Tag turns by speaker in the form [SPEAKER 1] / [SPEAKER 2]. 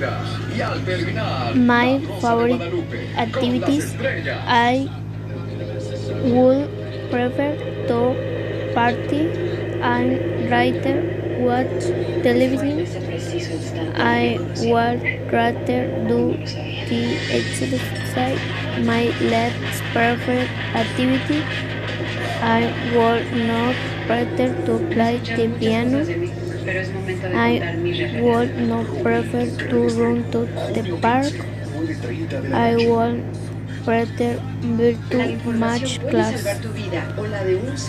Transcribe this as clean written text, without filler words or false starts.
[SPEAKER 1] My favorite activities, I would prefer to party and rather watch television. I would rather do the exercise. My last preferred activity, I would not prefer to play the piano. I would not prefer to run to the park. I would prefer virtual match class.